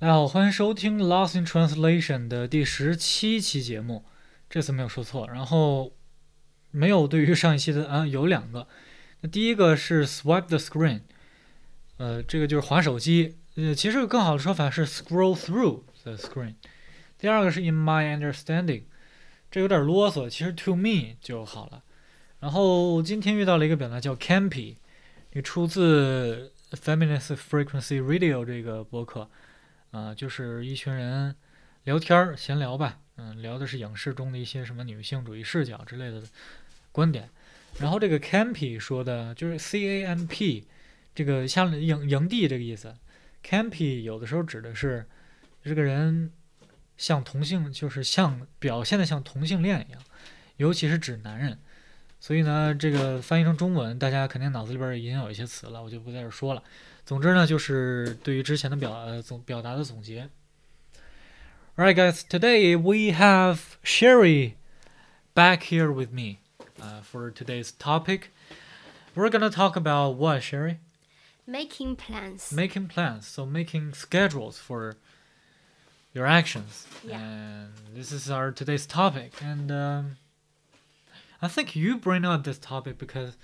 大家好，欢迎收听《Lost in Translation》的第17期节目。这次没有说错，然后没有对于上一期的有两个。那第一个是 swipe the screen，这个就是划手机。其实更好的说法是 scroll through the screen。第二个是 in my understanding，这有点啰嗦，其实 to me 就好了。然后今天遇到了一个表达叫 campy，这出自 Feminist Frequency Radio 这个播客。就是一群人聊天闲聊吧，聊的是影视中的一些什么女性主义视角之类的观点。然后这个 campy 说的就是 CAMP，这个像营地这个意思。campy 有的时候指的是这个人像同性，就是像表现的像同性恋一样，尤其是指男人。所以呢，这个翻译成中文，大家肯定脑子里边已经有一些词了，我就不在这说了。总之呢，就是对于之前的表达的总结。Alright, guys, today we have Sherry back here with me for today's topic. We're gonna talk about what, Sherry? Making plans. Making plans, so making schedules for your actions. Yeah. And this is our today's topic. And I think you bring up this topic because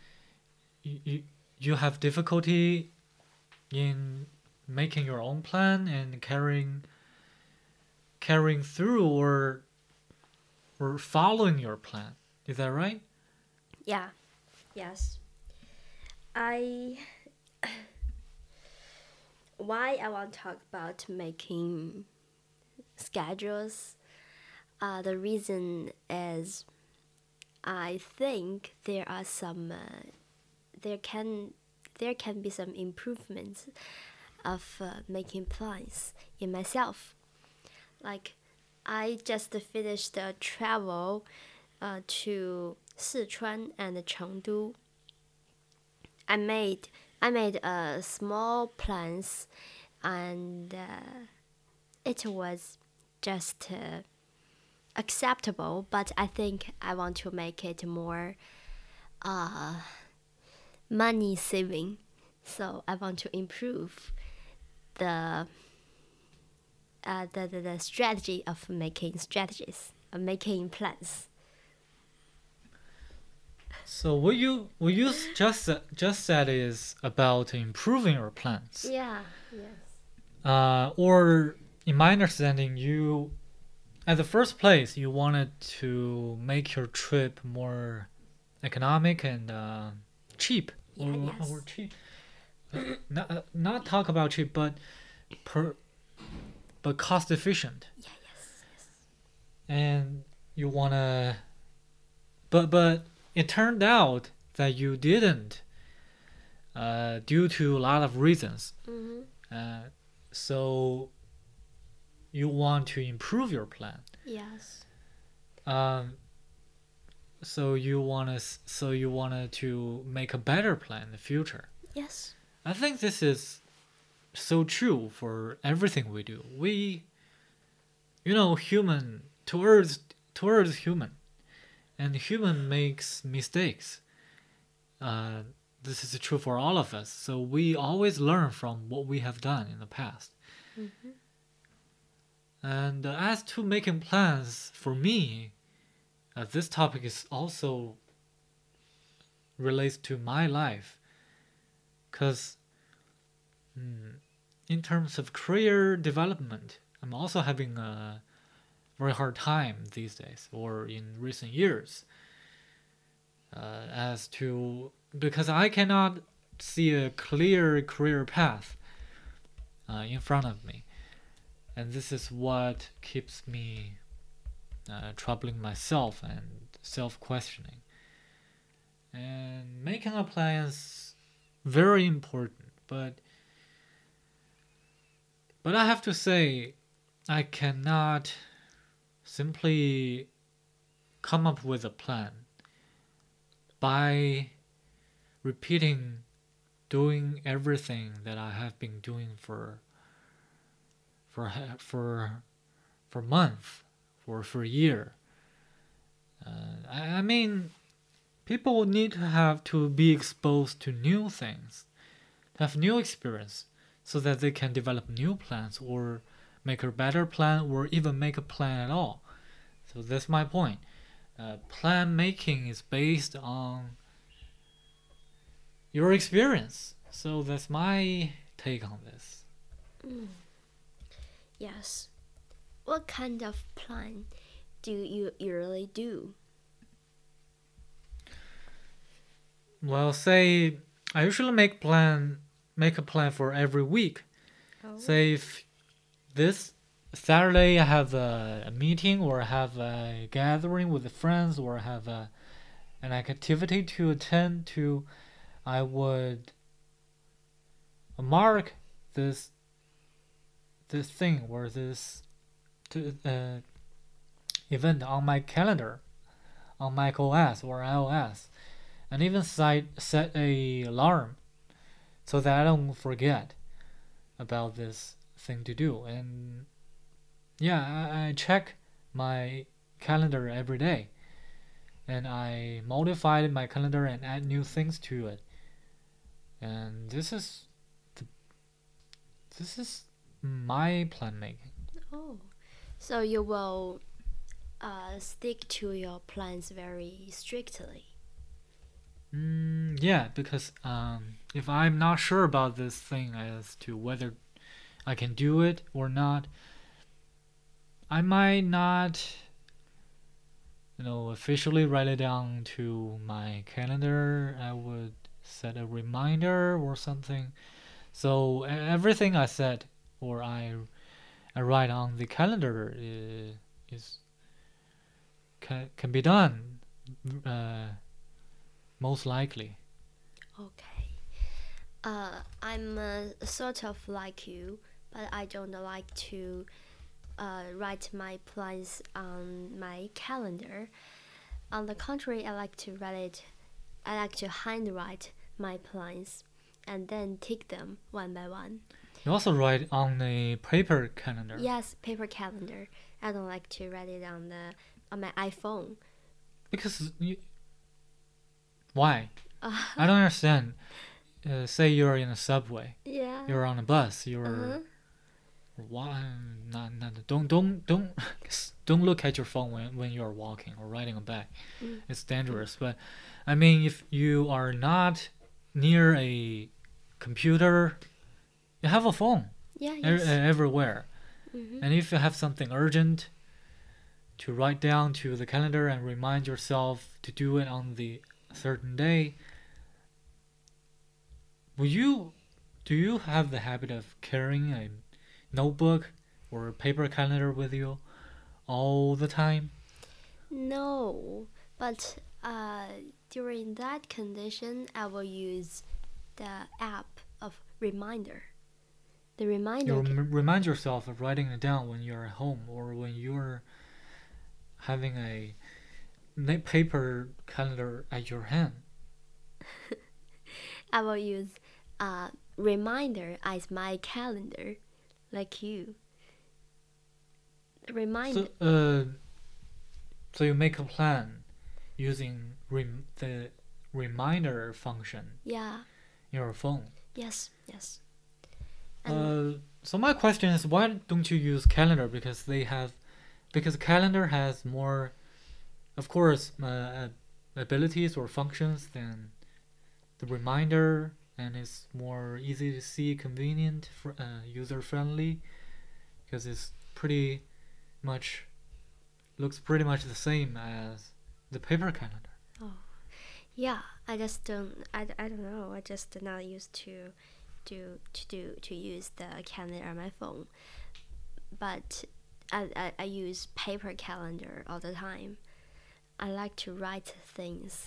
you have difficulty in making your own plan and carrying through or following your plan. Is that right? Yeah. Yes. Why I want to talk about making schedules. The reason is I think there are some there can be some improvements of making plans in myself. Like I just finished a travel to Sichuan and Chengdu. I made small plans, and it was just acceptable. But I think I want to make it more money saving. So I want to improve the strategy of making making plans. So what you just said is about improving your plans. Yeah. Yes. Or in my understanding, you at the first place you wanted to make your trip more economic and cheap. Yeah. Yes. Or cheap. Not talk about cheap, but cost efficient. Yeah. Yes. Yes. And you wanna, but it turned out that you didn't, due to a lot of reasons. Mm-hmm. So you want to improve your plan. Yes. So you wanted to make a better plan in the future. Yes. I think this is so true for everything we do. Human towards human, and human makes mistakes. This is true for all of us. So we always learn from what we have done in the past. Mm-hmm. And as to making plans, for me, this topic is also relates to my life, because in terms of career development, I'm also having a very hard time these days or in recent years, because I cannot see a clear career path in front of me, and this is what keeps me troubling myself and self-questioning. And making a plan is very important, but I have to say, I cannot simply come up with a plan by doing everything that I have been doing for months, for a year. I mean, people need to be exposed to new things, have new experience, so that they can develop new plans or make a better plan or even make a plan at all. So that's my point. Plan making is based on your experience. So that's my take on this. Yes. What kind of plan do you usually do? Well, say I usually make a plan for every week. Oh. Say if this Saturday I have a meeting or I have a gathering with the friends or I have an activity to attend to, I would mark this thing or this event on my calendar on Mac OS or iOS, and even set a alarm so that I don't forget about this thing to do. And yeah, I check my calendar every day, and I modified my calendar and add new things to it. And this is my plan making. Oh. So you will stick to your plans very strictly. Yeah, because if I'm not sure about this thing as to whether I can do it or not, I might not, officially write it down to my calendar. I would set a reminder or something. So everything I set or I write on the calendar is can be done, most likely. Okay. I'm sort of like you, but I don't like to write my plans on my calendar. On the contrary, I like to handwrite my plans and then tick them one by one. You also write on a paper calendar. Yes, paper calendar. I don't like to write it on my iPhone. Because why? I don't understand. Say you're in a subway. Yeah. You're on a bus. You're Uh-huh. why? Don't look at your phone when you're walking or riding a bike. It's dangerous. But I mean, if you are not near a computer, you have a phone Yeah. Yes. everywhere. Mhm. And if you have something urgent to write down to the calendar and remind yourself to do it on the certain day, do you have the habit of carrying a notebook or a paper calendar with you all the time? No, but during that condition, I will use the app of reminder. The reminder. You remind yourself of writing it down when you're at home or when you're having a paper calendar at your hand. I will use reminder as my calendar, like you. Reminder. So you make a plan using the reminder function Yeah. in your phone. Yes. Yes. So my question is, why don't you use calendar? Because calendar has more, of course, abilities or functions than the reminder, and it's more easy to see, convenient, user friendly, because it's looks pretty much the same as the paper calendar. Oh. Yeah. I just don't. I don't know. I just not used to use the calendar on my phone, but I use paper calendar all the time. I like to write things.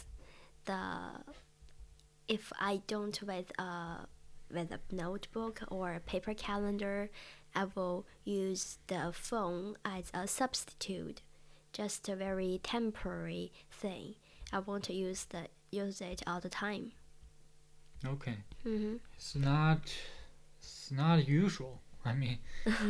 If I don't with a notebook or a paper calendar, I will use the phone as a substitute, just a very temporary thing. I won't use it all the time. Okay. Mm-hmm. It's not usual. I mean,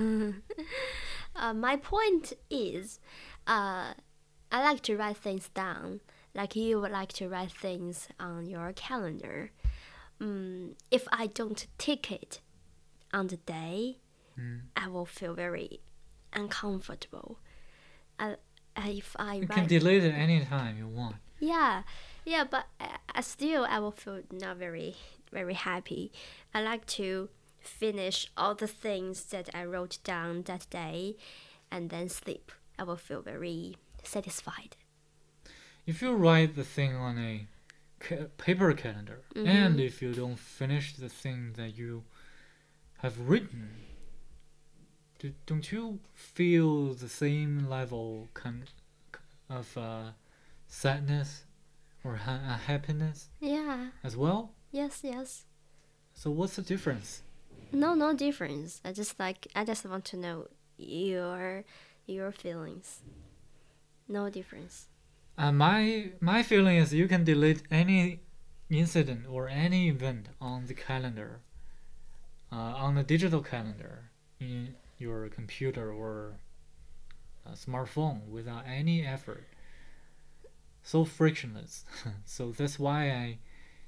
My point is, I like to write things down, like you would like to write things on your calendar. If I don't tick it, on the day, Mm. I will feel very uncomfortable. If I You write, can delete it anytime you want. yeah, but still I will feel not very happy. I like to finish all the things that I wrote down that day, and then sleep. I will feel very satisfied. If you write the thing on a paper calendar, and if you don't finish the thing that you have written, don't you feel the same level of sadness or happiness Yeah. as well? Yes. So what's the difference? No difference. I just want to know your feelings. No difference. My feeling is you can delete any incident or any event on the calendar, on a digital calendar in your computer or a smartphone without any effort. So frictionless. So that's why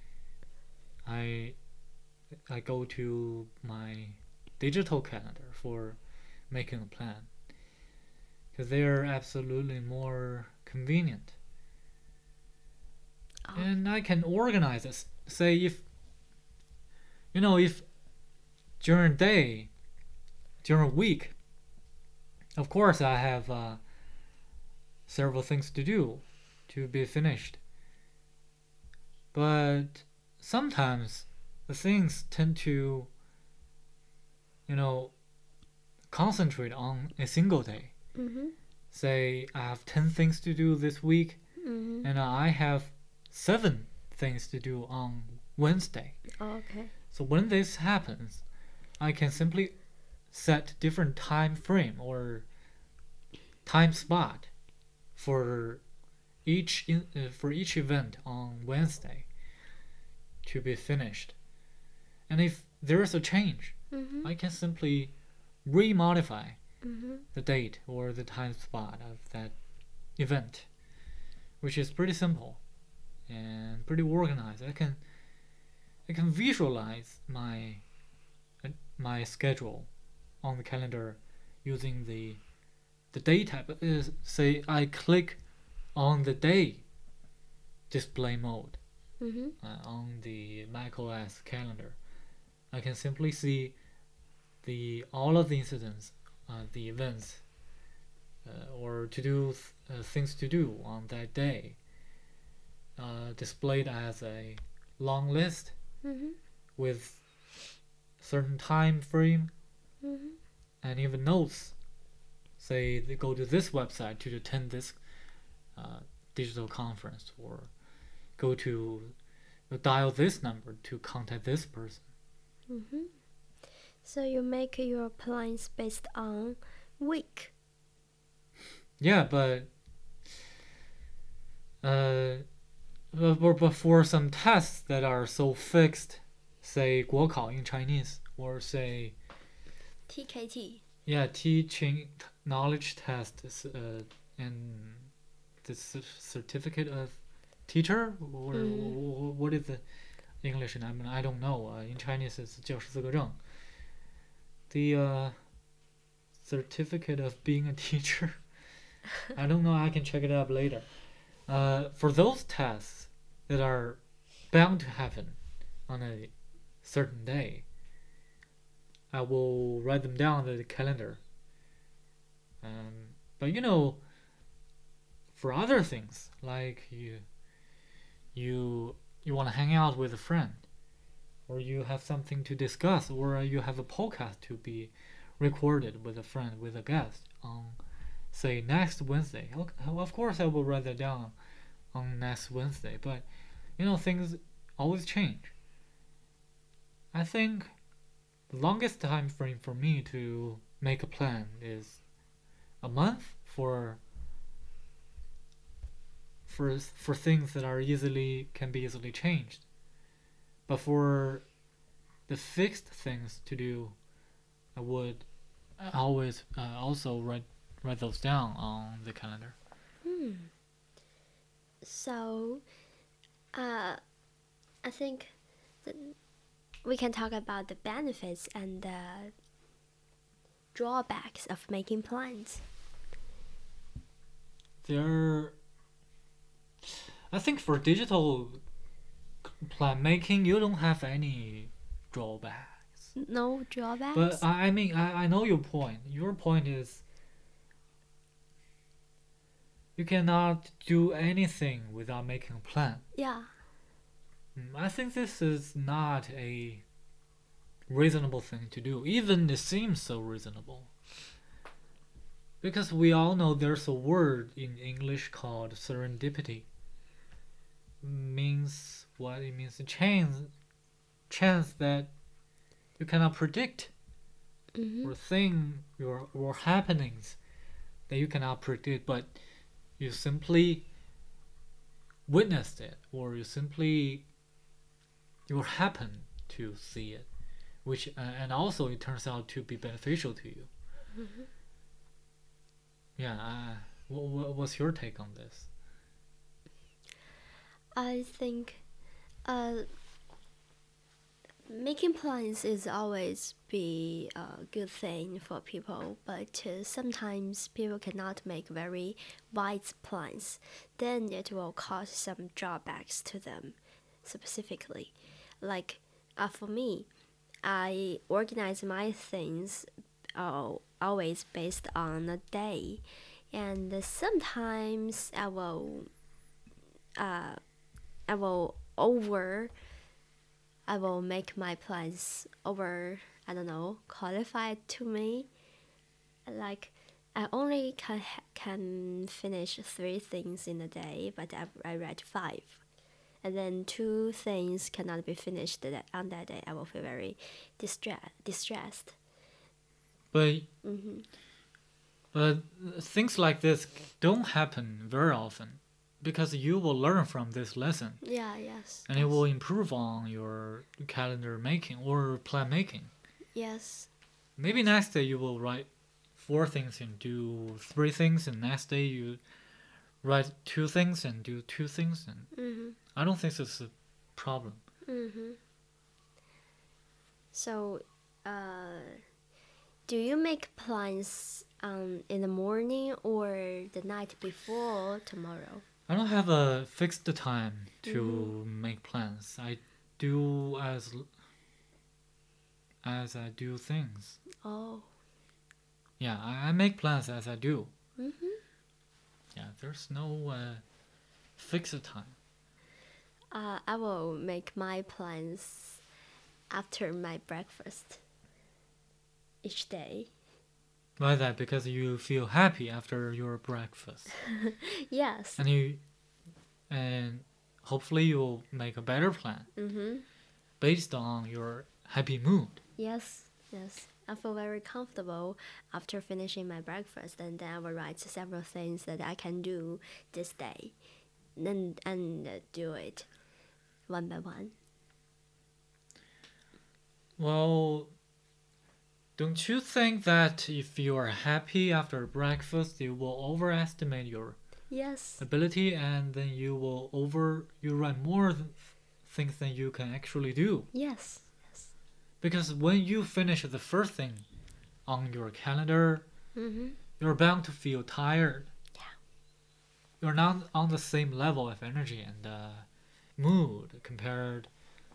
I go to my digital calendar for making a plan because they are absolutely more convenient. Oh. And I can organize it. Say if if during a day, during a week, of course I have several things to do to be finished. But sometimes the things tend to, concentrate on a single day. Say I have 10 things to do this week, and I have 7 things to do on Wednesday. Okay. So when this happens, I can simply set different time frame or time spot for each event on Wednesday to be finished. And if there is a change, I can simply remodify the date or the time spot of that event, which is pretty simple and pretty organized. I can visualize my schedule on the calendar using the day tab. Say I click on the day display mode on the macOS calendar. I can simply see all of the incidents, the events, or to do things to do on that day, displayed as a long list with certain time frame and even notes. Say they go to this website to attend this digital conference, or go to dial this number to contact this person. So you make your plans based on week. Yeah, but for some tests that are so fixed, say 国考 in Chinese, or say TKT. yeah, teaching knowledge test, and the certificate of teacher, or what is the English? I don't know. In Chinese, it's 教师资格证. The certificate of being a teacher. I don't know. I can check it up later. For those tests that are bound to happen on a certain day, I will write them down on the calendar. But for other things, like you want to hang out with a friend, or you have something to discuss, or you have a podcast to be recorded with a friend, with a guest on, say, next Wednesday. Of course I will write that down on next Wednesday, but things always change. I think the longest time frame for me to make a plan is a month for things that are can be easily changed. But for the fixed things to do, I would always also write those down on the calendar. So, I think that we can talk about the benefits and the drawbacks of making plans. I think for digital plan making, you don't have any drawbacks. No drawbacks? But I mean, I know your point. Your point is you cannot do anything without making a plan. Yeah. I think this is not a reasonable thing to do, even it seems so reasonable. Because we all know there's a word in English called serendipity. Means what? It means a chance that you cannot predict, or happenings that you cannot predict, but you simply witnessed it, or you happen to see it, which and also it turns out to be beneficial to you. Yeah. What's your take on this? I think making plans is always be a good thing for people, but sometimes people cannot make very wise plans. Then it will cause some drawbacks to them specifically. Like for me, I organize my things always based on a day, and sometimes I will make my plans over, I don't know, qualified to me. Like I only can finish 3 things in a day, but I read 5. And then 2 things cannot be finished on that day. I will feel very distressed. But things like this don't happen very often, because you will learn from this lesson. Yeah, yes. And it will improve on your calendar making or plan making. Yes. Maybe next day you will write 4 things and do 3 things, and next day you write 2 things and do 2 things. And I don't think this is a problem. So, do you make plans in the morning or the night before tomorrow? I don't have a fixed time to make plans. I do as I do things. Oh. Yeah, I make plans as I do. Yeah, there's no fixed time. I will make my plans after my breakfast each day. Why that? Because you feel happy after your breakfast. Yes. And hopefully you'll make a better plan based on your happy mood. Yes. I feel very comfortable after finishing my breakfast, and then I will write several things that I can do this day, and do it one by one. Well, don't you think that if you are happy after breakfast, you will overestimate your ability, and then you write more things than you can actually do? Yes. Because when you finish the first thing on your calendar, you're bound to feel tired. Yeah. You're not on the same level of energy and mood compared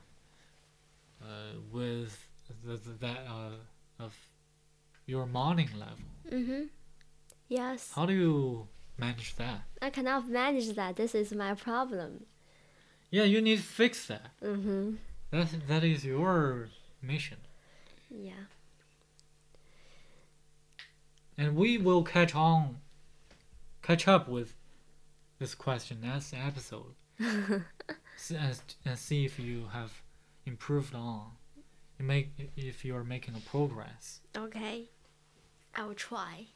with that of your morning level. Yes. How do you manage that? I cannot manage that. This is my problem. Yeah, you need to fix that. That is your mission. Yeah. And we will catch up with this question next episode, and see if you have improved on, if you are making a progress. Okay, I will try.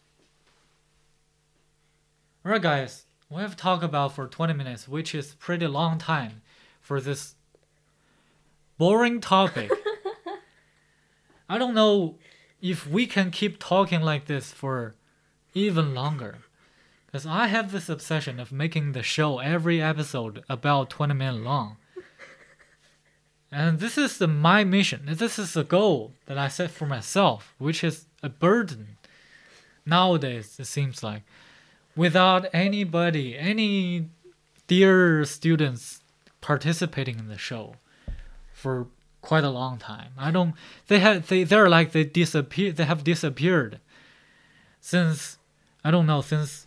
Alright, guys, we have talked about for 20 minutes, which is pretty long time for this boring topic. I don't know if we can keep talking like this for even longer, because I have this obsession of making the show every episode about 20 minutes long. And this is my mission. This is a goal that I set for myself, which is a burden. Nowadays, it seems like, without anybody, any dear students participating in the show for quite a long time. They're like they disappear. They have disappeared since, I don't know, since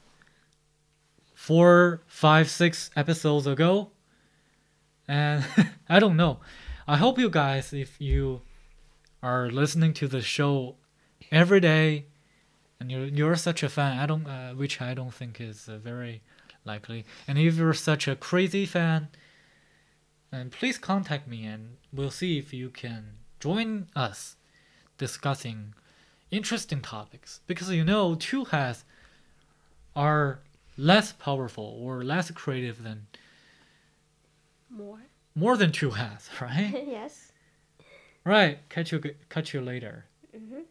4, 5, 6 episodes ago. And I don't know. I hope you guys, if you are listening to the show every day, and you're such a fan, which I don't think is very likely. And if you're such a crazy fan, then please contact me, and we'll see if you can join us discussing interesting topics. Because two hats are less powerful or less creative than more than two hats, right? Yes. Right. Catch you later. Mm-hmm.